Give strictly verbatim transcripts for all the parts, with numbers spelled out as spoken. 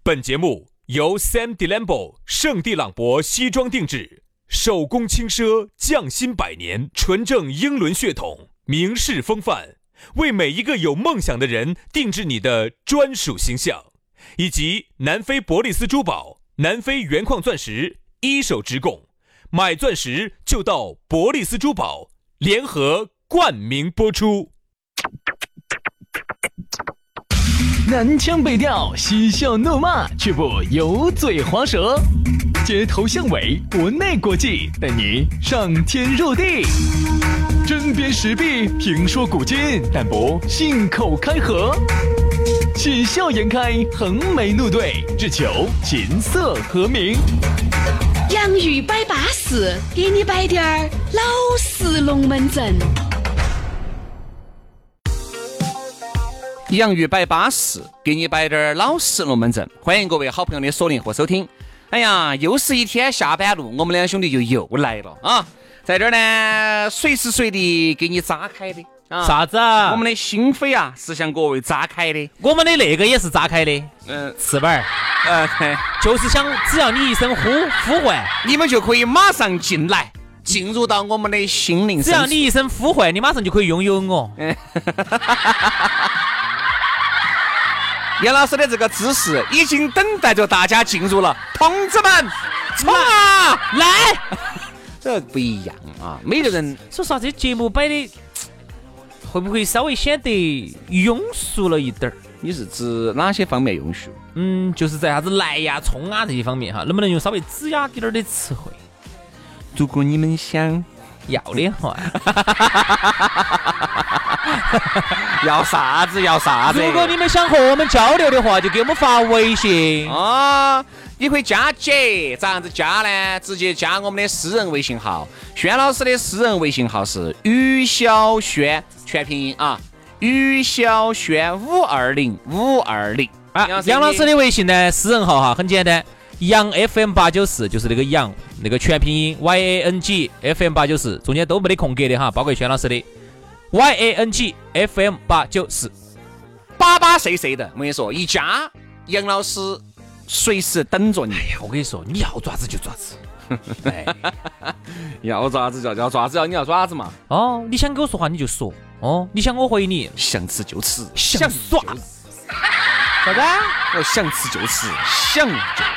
本节目由 Sam Delambo 圣地朗博西装定制，手工轻奢，匠心百年，纯正英伦血统，名士风范，为每一个有梦想的人定制你的专属形象。以及南非伯利斯珠宝、南非原矿钻石一手直供，买钻石就到伯利斯珠宝，联合冠名播出。 南腔北调，嬉笑怒骂，却不油嘴滑舌，街头巷尾，国内国际，带你上天入地，针砭时弊，评说古今，但不信口开河，喜笑颜开，横眉怒对，只求琴瑟和鸣。 洋芋摆巴士，给你摆点儿老式龙门阵。 洋芋摆巴士，给你摆点老实龙门阵。欢迎各位好朋友的锁定和收听。哎呀，又是一天下班路，我们两兄弟就又来了啊！在这儿呢，随时随地给你扎开的啊！ 啥子啊？ 我们的心扉啊，是向各位扎开的。 我们的那个也是扎开的， 嗯， 翅膀， 呃， 就是想只要你一声呼呼唤， 你们就可以马上进来，进入到我们的心灵深处。 只要你一声呼唤，你马上就可以拥有我。 杨老师的这个姿势已经等待着大家进入了，同志们，冲啊！ 来， 这不一样啊！每个人说实话，这节目摆的会不会稍微显得庸俗了一点儿？ 你是指哪些方面庸俗？ 嗯，就是在啥子来呀、冲啊这些方面哈，能不能用稍微子雅点儿的词汇？ 如果你们想要的话， 要啥子要啥子。 如果你们想和我们交流的话，就给我们发微信啊、哦，你可以加姐，咋样子加呢？直接加我们的私人微信号，轩老师的私人微信号是于小轩，全拼音啊，于小轩五二零五二零啊。杨老师的微信呢，私人号哈，很简单。杨 F M 八九四就是那个杨，那个全拼音 Y A N G F M 八九四，中间都没得空格的哈，包括轩老师的 Y A N G F M 八九四， 巴巴碎碎的，我跟你说，一加杨老师随时等着你。 哎呀，我跟你说，你要爪子就爪子， 哎、要爪子就要爪子，要你要爪子嘛。 哦，你想跟我说话你就说，哦，你想我回你， 想吃就吃， 想耍啥子？ 我想吃就吃，想就。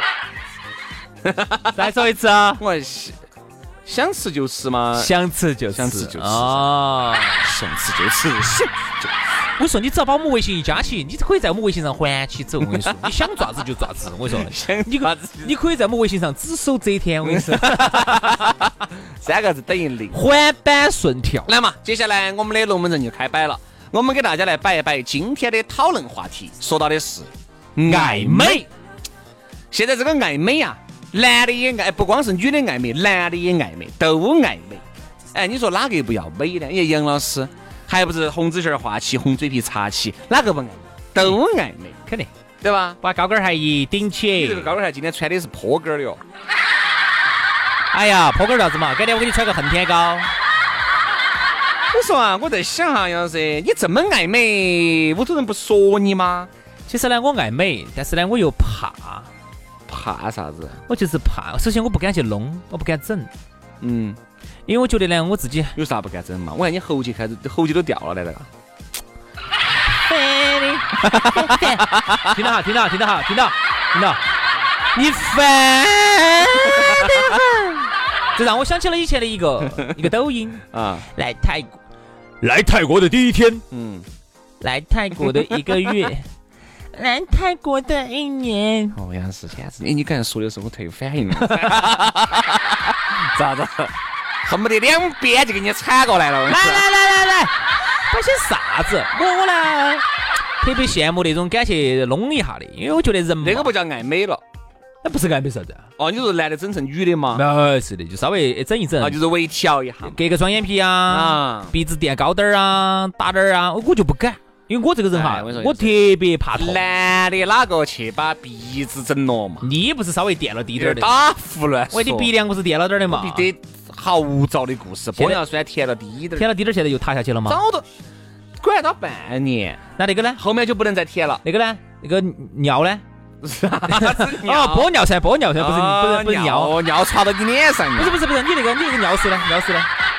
再说一次啊！ 我想吃就吃嘛， 想吃就吃， 想吃就吃啊， 想吃就吃，想就。 我说你只要把我们微信一加起，你可以在我们微信上还起走。我跟你说，你想爪子就爪子。我跟你说，你可你可以在我们微信上只手遮天。我跟你说， 三个字等于零， 环板顺跳。 来嘛，接下来我们的龙门阵就开摆了。我们给大家来摆一摆今天的讨论话题，说到的是爱美。 现在这个爱美啊。男的也爱，不光是女的爱美，男的也爱美，都爱美。哎，你说哪个不要美呢？哎，杨老师还不是红指甲画起，红嘴皮擦起，哪个不爱美？都爱美， 肯定， 对吧？ 把高跟鞋一顶起。 你这个高跟鞋今天穿的是坡跟的哟。 哎呀，坡跟啥子嘛？改天我给你穿个恨天高。 我说啊，我在想哈，杨老师，你这么爱美，屋头人不说你吗？ 其实呢，我爱美，但是呢，我又怕。 怕啥子？ 我就是怕。首先我不敢去弄，我不敢整。 嗯， 因为我觉得呢，我自己有啥不敢整嘛？我看你喉结开始，喉结都掉了来那个。听到哈，听到，听到哈，听到，听到， 你烦得很。这让我想起了以前的一个一个抖音啊，来泰国， 来泰国的第一天， 嗯，来泰国的一个月。来泰国的一年， 哦，杨是现在，你刚才说的时候我特有反应了，咋子？恨不得两边就给你铲过来了。 来来来来来，摆些啥子？我我呢特别羡慕那种敢去弄一下的，因为我觉得人那个不叫爱美了， 那不是爱美啥子？ 哦，你说男的整成女的吗？ 没是的，就稍微整一整， 啊，就是微调一下， 割个双眼皮啊，啊鼻子垫高点儿啊，打点儿啊，我就不敢。因为我这个人哈，哎、我, 我特别怕痛。 男的哪个去把鼻子整了嘛？ 你不是稍微垫了低点的？ 打胡乱说。 我的鼻梁不是垫了点的嘛？ 必得好早的故事，玻尿酸填了低点， 填了低点，现在又塌下去了吗？ 早都管到半年， 那那个呢？ 后面就不能再填了。 那个呢？那个尿呢？ 啥子哦， 尿？ 玻尿酸，玻尿酸不是不是不是尿， 哦尿插到你脸上， 不是不是不是，你那个你那个尿素呢？尿素呢？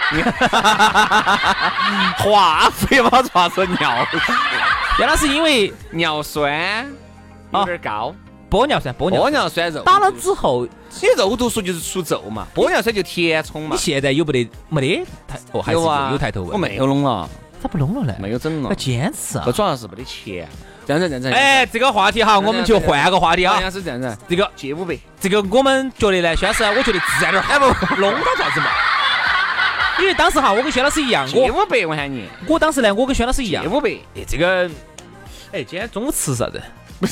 化肥嘛，插成尿， 杨老师因为尿酸有点高， 玻尿酸，玻尿玻尿酸肉打了之后， 你肉毒素就是除皱嘛，玻尿酸就填充嘛你。现在有没得没得抬哦？还是有啊， 有抬头纹？ 我没有弄了， 咋不弄了呢？ 没有整了要，坚持啊这！主要是没得钱。这样子，这样子。 哎，这个话题哈，我们就换个话题啊好。像是这样子， 这个借五百。 这个我们觉得呢，薛老师，我觉得自然点儿，哎不，弄到啥子嘛？因为当时哈，我跟薛老师一样， 借我五百，我喊你我当时呢，我跟薛老师一样借，五百。 哎，这个，哎，今天中午吃啥子？ 我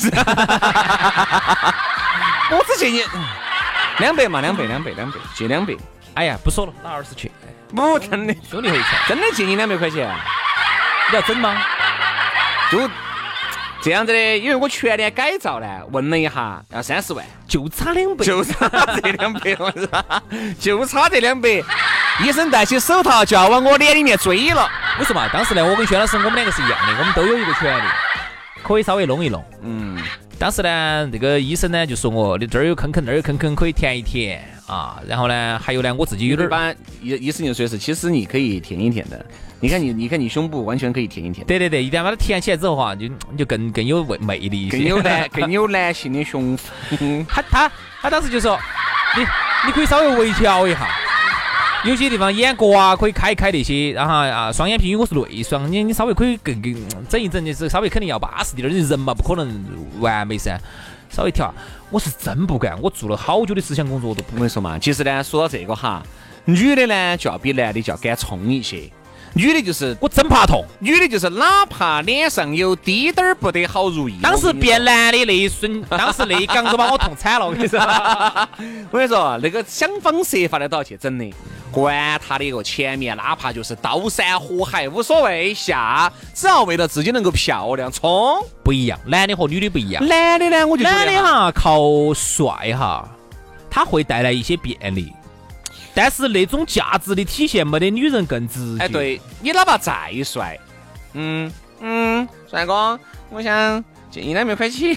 只借你两百嘛，两百，两百，两百，借两百。 哎呀，不说了，拿二十去， 不，真的， 兄弟会钱， 真的借你两百块钱， 你要整吗？ 就这样子的。因为我全年改造呢，问了一下，要三十万， 就差两百， 就差这两百，我说，就差这两百。医生戴起手套就要往我脸里面追了。 为什么？当时呢，我跟薛老师我们两个是一样的，我们都有一个权利，可以稍微弄一弄。 嗯， 当时呢，这个医生呢就说我，你这儿有坑坑，那儿有坑坑，可以填一填啊。然后呢，还有呢，我自己有点儿。 把医医生就说是，其实你可以填一填的。你看你，你看你胸部完全可以填一填。 对对对，一旦把它填起来之后哈，就你就更更有魅力一些， 更有男更有男性的胸腹。 他他他当时就说，你你可以稍微微调一下，有些地方眼角啊可以开一开那些，然后啊双眼皮，因为我是内双，你你稍微可以更更整一整，就是稍微肯定要巴适点儿，人嘛不可能完美噻，稍微调。我是真不敢，我做了好久的思想工作我都不我跟你说嘛，其实呢，说到这个哈，女的呢就要比男的就要敢冲一些。女的就是我真怕痛。 女的就是哪怕脸上有滴点儿不得好如意， 当时变男的那一瞬，当时那一杠都把我痛惨了，我跟你说。 我跟你说，那个想方设法的都要去整的，管他的一个前面，哪怕就是刀山火海无所谓，下只要为了自己能够漂亮冲。 不一样，男的和女的不一样。 男的呢，我就觉得男的哈靠帅哈，他会带来一些便利。但是那种价值的体现没得女人更直接。 哎，对你哪怕再帅，嗯嗯，帅哥，我想借你两百块钱，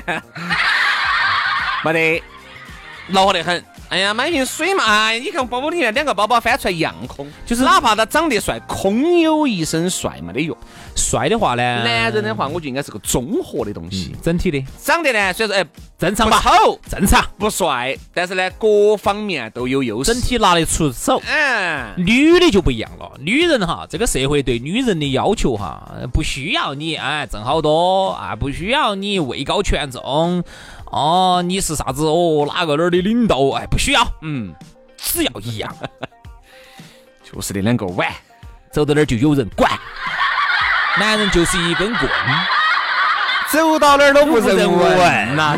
没得，恼火得很。哎呀，买瓶水嘛，哎，你看包包里面两个包包翻出来一样空，就是哪怕他长得帅，空有一身帅没得用。 帅的话呢， 男人的话，我觉得应该是个综合的东西， 嗯、整体的长得呢，虽然说哎正常吧， 不丑正常不帅，但是呢各方面都有优势， 整体拿得出手。 嗯， 女的就不一样了，女人哈，这个社会对女人的要求哈，不需要你哎挣好多啊，不需要你位高权重。哦，你是啥子哦？哪个哪儿的领导？哎，不需要， 嗯， 只要一样， 就是那两个碗， 走到哪儿就有人管。男人就是一根棍， 走到哪儿都不人闻呐。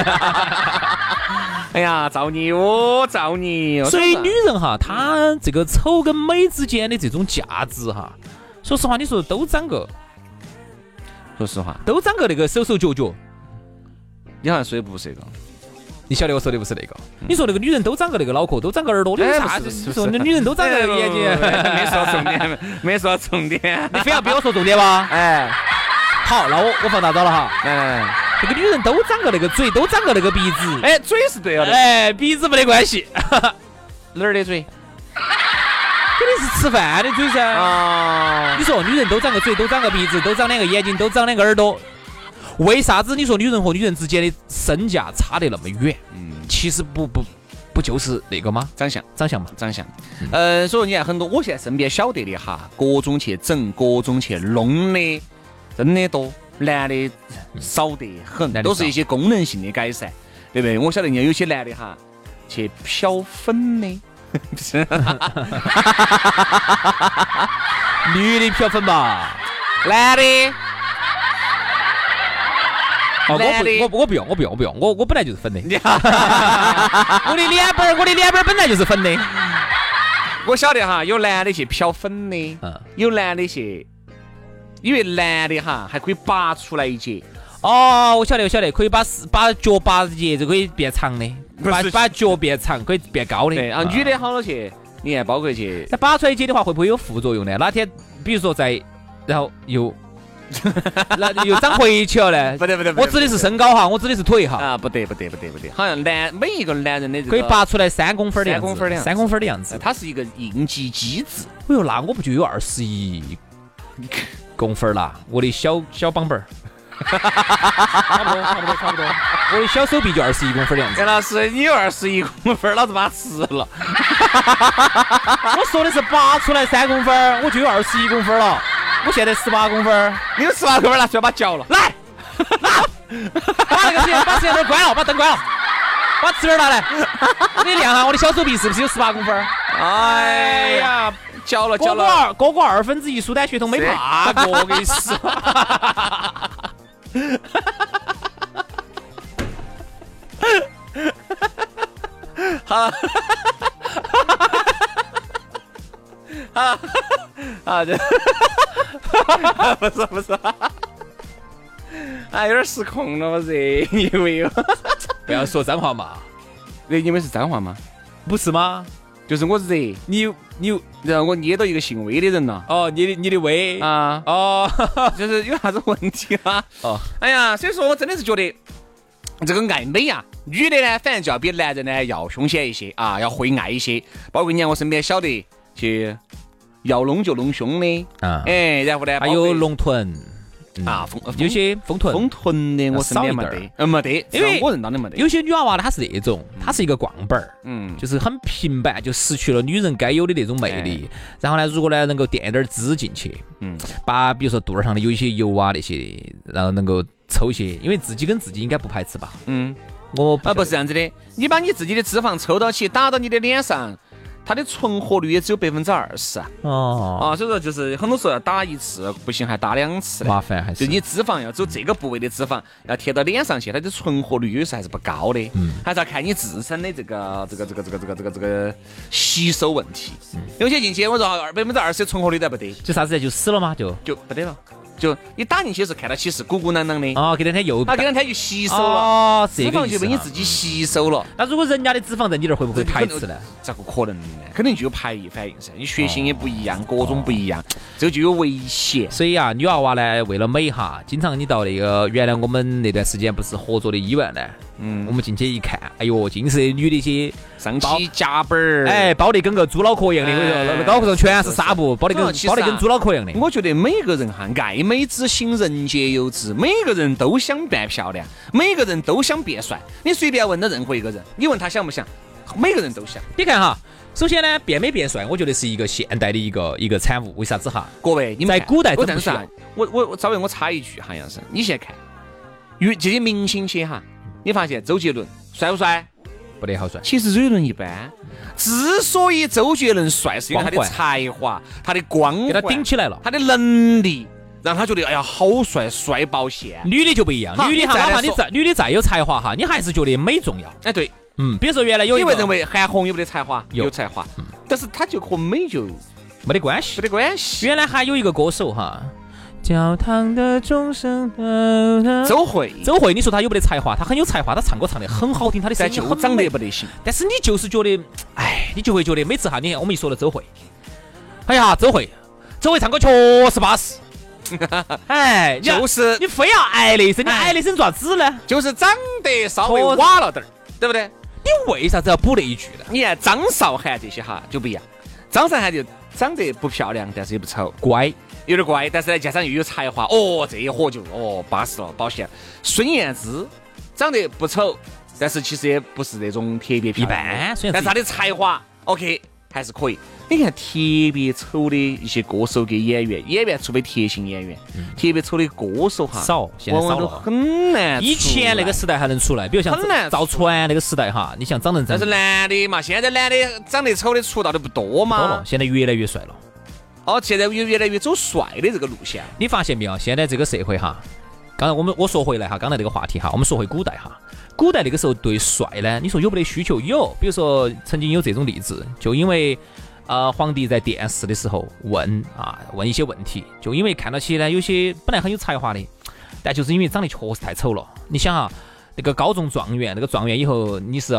哎呀，造孽哦，造孽哦！ 所以女人哈，她这个丑跟美之间的这种价值哈，说实话，你说都长个， 说实话， 都长个那个手手脚脚。 你好像说的不是这个， 你晓得我说的不是那个？你说那个女人都长个那个脑壳，都长个耳朵，你啥子？你说那女人都长个眼睛？ 没说重点，没说重点， 你非要逼我说重点吗？ 哎， 好，那我我放大招了哈。 来来来， 这个女人都长个那个嘴，都长个那个鼻子。 哎，嘴是对了的， 哎，鼻子没得关系。 哪儿的嘴？ 肯定是吃饭的嘴噻。 啊， 你说女人都长个嘴，都长个鼻子，都长两个眼睛，都长两个耳朵。为啥子你说女人和女人之间的身价差得那么远？嗯，其实不不不就是那个吗？ 长相， 长相嘛， 长相。呃，所以你看很多，我现在身边晓得的哈，各种去整，各种去弄的，真的多，男的少得很，都是一些功能性的改善，对不对？我晓得人家有些男的哈，去漂粉的， 女的漂粉吧， 男的。 哦，我不，我我不用，我不用，我不用，我我本来就是粉的。我的脸本，我的脸本本来就是粉的。 我晓得哈，有男的去漂粉的，嗯，有男的去，因为男的哈还可以拔出来一截。 哦，我晓得，我晓得，可以把把脚拔一截就可以变长的，把把脚变长可以变高的。 对啊，女的好多去，你看包括去， 那拔出来一截的话，会不会有副作用呢？哪天比如说在，然后又。 那又长回去了呢？ 不对不对， 我指的是身高哈，我指的是腿哈。 啊，不对不对不对不对，好像男每一个男人的这个可以拔出来三公分的样子， 三公分的样子三公分的样子。 它是一个应急机制。 哎呦，那我不就有二十一公分啦？我的小小膀本儿。差不多，差不多，差不多。我的小手臂就二十一公分的样子。 杨老师，你有二十一公分，老子把它吃了。 我说的是拔出来三公分，我就有二十一公分了。我现在十八公分， 你有十八公分，拿出来把它嚼了。 来，把那个摄像把摄像头关了，把灯关了，把尺儿拿来，我给你量下我的小手臂是不是有十八公分？ 哎呀，嚼了嚼了。 哥哥二哥哥二分之一疏胆血统没拔过，我跟你说。 好，好，啊，这不是不是，啊，有点失控了，我这以为有， 不要说脏话嘛， 你以为是脏话吗？ 不是吗？ 就是我热， 你有你有让我捏到一个姓魏的人了。 哦，你的你的胃啊， 哦， 就是有啥子问题啊？ 哦， 哎呀，所以说我真的是觉得这个爱美啊，女的呢，反正就要比男人呢要凶险一些啊，要会爱一些。包括你看我身边晓得去要弄就弄凶的啊，哎，然后呢还有龙臀。 啊， 有些丰臀， 丰臀的我身边没得，嗯，没得，因为我认到的没得。 有些女娃娃她是那种，她是一个逛本儿， 嗯， 就是很平板，就失去了女人该有的那种魅力。然后呢，如果呢能够垫点脂进去，嗯，把比如说肚儿上的有一些油啊那些，然后能够抽些，因为自己跟自己应该不排斥吧？ 嗯， 我啊不是这样子的，你把你自己的脂肪抽到起，打到你的脸上。它的存活率也只有百分之二十啊！ 哦啊，所以说就是很多时候要打一次不行，还打两次， 麻烦还是。 就你脂肪要走这个部位的脂肪要贴到脸上去，它的存活率有时候还是不高的，嗯，还是要看你自身的这个这个这个这个这个这个这个吸收问题。嗯、有些进去我说二百分之二十的存活率都不得， 就啥子就死了吗？就就不得了。就你打进去是看到起是鼓鼓囊囊的哦，给两天又啊，给两天就吸收了， 哦， 脂肪就被你自己吸收了。 那如果人家的脂肪在你这儿会不会排斥呢？ 咋个可能呢？肯定就有排异反应噻，你血型也不一样，各种不一样，这个就有危险。 所以啊，女娃娃呢，为了美哈，经常你到那个原来我们那段时间不是合作的医院呢，嗯，我们进去一看，哎呦，尽是女的些上起夹板儿， 哎，包得跟个猪脑壳一样的，我说那脑壳上全是纱布，包得跟包得跟猪脑壳一样的。 我觉得每个人哈，爱美之心人皆有之，每个人都想变漂亮，每个人都想变帅。你随便问到任何一个人，你问他想不想，每个人都想。 你看哈，首先呢，变美变帅，我觉得是一个现代的一个一个产物。为啥子哈？ 各位，你们在古代真不需要。 我我我稍微我插一句哈，杨生，你现在看，与这些明星些哈，你发现周杰伦帅不帅？ 不得好帅。 其实周杰伦一般。之所以周杰伦帅，是因为他的才华、他的光环， 给他顶起来了， 他的能力。让他觉得哎呀好帅，帅爆线。 女的就不一样，女的哈，哪怕你再女的再有才华哈，你还是觉得美重要。 哎对， 嗯，比如说原来有一个， 你会认为韩红有没得才华？有才华，嗯、但是他就和美就没得关系， 没得关系。 原来还有一个歌手哈，教堂的钟声， 周慧， 周慧，你说他有没得才华？他很有才华，他唱歌唱得很好听，他的声音就长得不得行。 但是你就是觉得，哎，你就会觉得每次哈，你看我们一说到周慧，哎呀，周慧，周慧唱歌确实巴适。哎， 就是你非要爱那声，你爱那声做啥子呢？ 就是长得稍微瓦了点儿，对不对？ 你为啥子要补那一句呢？ 你看张韶涵这些哈就不一样，张韶涵就长得不漂亮，但是也不丑， 乖， 有点乖，但是呢加上又有才华，哦，这一伙就哦巴适了，保险。孙燕姿长得不丑，但是其实也不是那种特别漂亮， 一般， 但是她的才华 OK 还是可以。你看特别丑的一些歌手跟演员，演员除非特型演员，嗯、特别丑的歌手哈少，现在少了， 很难。 以前那个时代还能出来，比如像赵传那个时代哈，你像长得但是男的嘛，现在男的长得丑的出道的不多嘛， 多了，现在越来越帅了。 哦，现在越越来越走帅的这个路线， 你发现没有？现在这个社会哈，刚才我们我说回来哈，刚才这个话题哈，我们说回古代哈，古代那个时候对帅呢，你说有没得需求？有，比如说曾经有这种例子，就因为。呃，皇帝在殿试的时候问啊，问一些问题，就因为看到起呢，有些本来很有才华的，但就是因为长得确实太丑了。你想啊，那个高中状元，那个状元以后你是要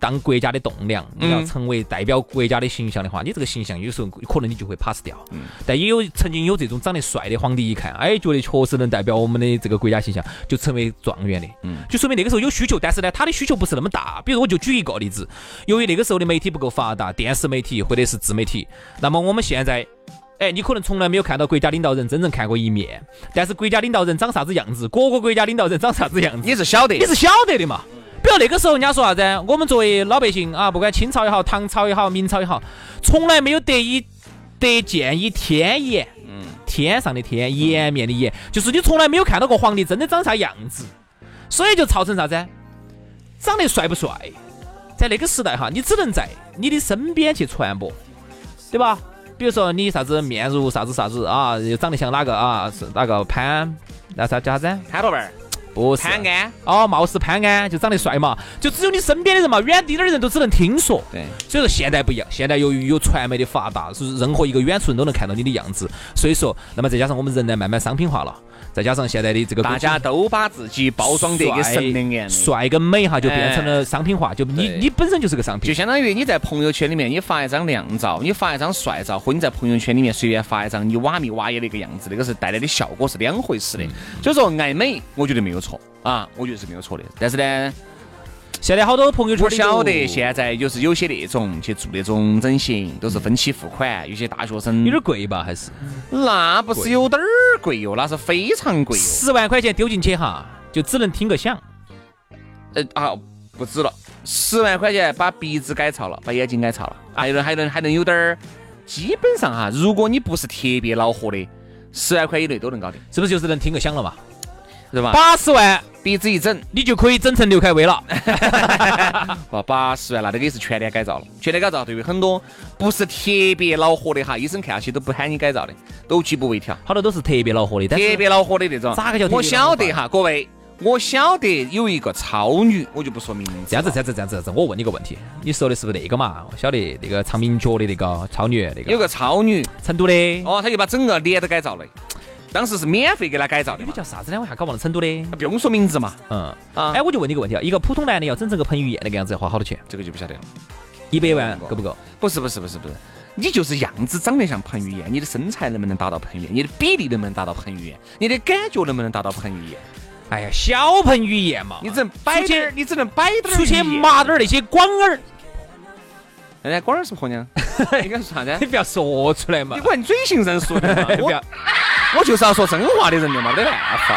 当国家的栋梁，你要成为代表国家的形象的话，你这个形象有时候可能你就会 pass 掉。嗯、但也有曾经有这种长得帅的皇帝，一看，哎，觉得确实能代表我们的这个国家形象，就成为状元的。嗯，就说明那个时候有需求，但是呢，他的需求不是那么大。比如我就举一个例子，由于那个时候的媒体不够发达，电视媒体或者是自媒体，那么我们现在。哎，你可能从来没有看到国家领导人真正看过一面，但是国家领导人长啥子样子，各个国家领导人长啥子样子， 你是晓得， 你是晓得的嘛。比如那个时候人家说啥子，我们作为老百姓啊，不管清朝也好，唐朝也好，明朝也好，从来没有得以得见一天颜，嗯，天上的天，颜面的颜，就是你从来没有看到过皇帝真的长啥样子，所以就造成啥子，长得帅不帅，在那个时代哈，你只能在你的身边去传播，对吧？比如说你啥子面如啥子啥子啊，又长得像哪个啊？是哪个潘？那啥叫啥子？ 潘多贝儿？ 不是潘安？ 哦，貌似潘安，就长得帅嘛。就只有你身边的人嘛，远地点的人都只能听说。 对， 所以说现在不一样，现在由于有传媒的发达，是任何一个远处人都能看到你的样子。所以说，那么再加上我们人呢慢慢商品化了。再加上现在的这个大家都把自己包装得跟神灵一样， 帅跟美哈就变成了商品化，就你你本身就是个商品， 就相当于你在朋友圈里面你发一张靓照，你发一张帅照，或你在朋友圈里面随便发一张你瓦米瓦耶的一个样子，那个是带来的效果是两回事的。所以说爱美，我觉得没有错啊，我觉得是没有错的。但是呢， 现在好多朋友圈， 我晓得现在就是有些那种去做那种整形，都是分期付款，有些大学生有点贵吧？还是那不是有点儿贵哟，那是非常贵哟， 十万块钱丢进去哈，就只能听个响。 呃啊，不止了，十万块钱把鼻子改造了，把眼睛改造了，还能还能还能有点儿。基本上哈，如果你不是特别恼火的，十万块以内都能搞定， 是不是就是能听个响了嘛？ 是吧？ 八十万鼻子一整， 你就可以整成刘恺威了。 不，八十万那这个也是全脸改造了。全脸改造对于很多不是特别恼火的哈，医生看下去都不喊你改造的，都举步维条。 好多都是特别恼火的， 特别恼火的那种。 咋个叫？ 我晓得哈，各位，我晓得有一个超女，我就不说名字。 这样子，这样子，这样子，这样子，我问你个问题，你说的是不是那个嘛？我晓得那个唱名角的那个超女，那个有个超女， 成都的。 哦，他就把整个脸都改造了。当时是免费给他改造的， 那个叫啥子呢？我还搞忘了，成都的， 不用说名字嘛。 嗯啊，哎，我就问你个问题啊，一个普通男的要整成个彭于晏那个样子，要花好多钱？ 这个就不晓得了。 一百万够不够？ 不是不是不是不是，你就是样子长得像彭于晏，你的身材能不能达到彭于晏？你的比例能不能达到彭于晏？你的感觉能不能达到彭于晏？ 哎呀，小彭于晏嘛， 你只能摆点，你只能摆点， 出去麻点那些广儿。 哎，广儿是婆娘，应该是啥子？ 你不要说出来嘛！ 你管你嘴型人说的嘛？我我就是要说真话的人的嘛，没得办法。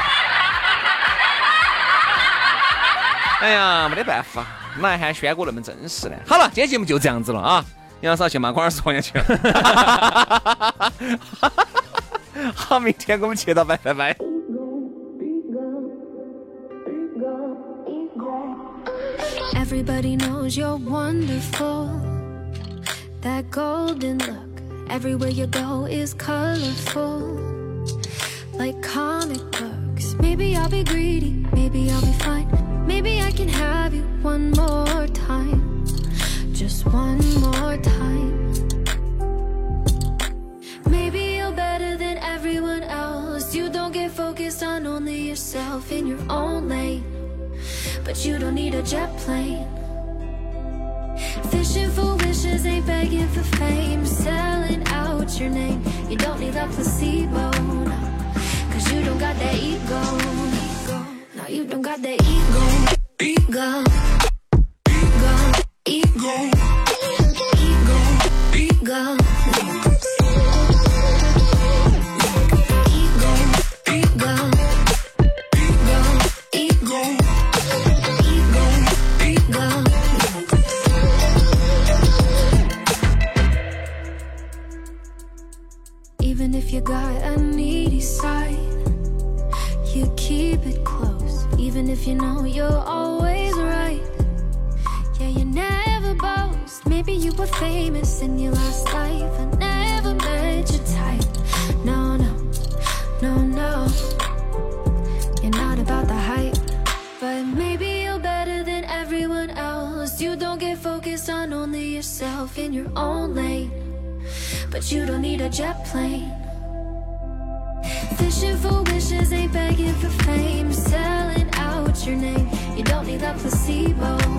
哎呀，没得办法，哪还轩哥那么真实呢？好了，今天节目就这样子了啊！杨老师去骂广儿是婆娘去了。好，明天我们接到，拜拜拜。 Everybody knows you're wonderful. That golden look everywhere you go is colorful, like comic books. Maybe I'll be greedy, maybe I'll be fine. Maybe I can have you one more time, just one more time. Maybe you're better than everyone else. You don't get focused on only yourself in your own lane, but you don't need a jet plane. Fishing for wishes, ain't begging for fame. Selling out your name, you don't need that placebo, no. Cause you don't got that ego, no, you don't got that ego. Ego, ego, ego, ego, ego. Even if you got a needy side, you keep it close. Even if you know you're always right, yeah, you never boast. Maybe you were famous in your last life. I never met your type. No, no, no, no. You're not about the hype, but maybe you're better than everyone else. You don't get focused on only yourself in your own lane, but you don't need a jet plane. Fishing for wishes, ain't begging for fame. Selling out your name, you don't need that placebo.